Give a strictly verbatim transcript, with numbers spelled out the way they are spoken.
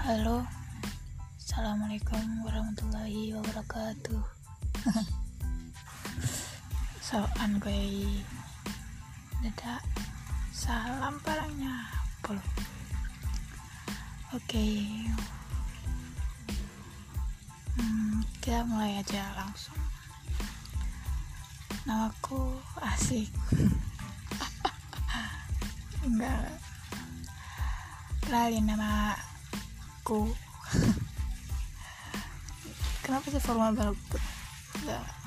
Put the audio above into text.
Halo, assalamualaikum warahmatullahi wabarakatuh. Soan gue dadah salam barangnya pol. Oke, hmm, kita mulai aja langsung. Namaku asik. Enggak. Kenalin nama aku. Kenapa sih formal banget? Enggak.